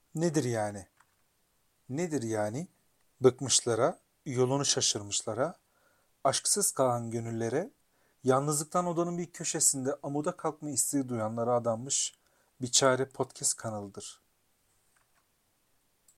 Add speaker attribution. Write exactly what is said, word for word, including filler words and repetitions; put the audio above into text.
Speaker 1: Nedir yani? Nedir yani? Bıkmışlara, yolunu şaşırmışlara, aşksız kalan gönüllere, yalnızlıktan odanın bir köşesinde amuda kalkma isteği duyanlara adanmış bir çare podcast kanalıdır.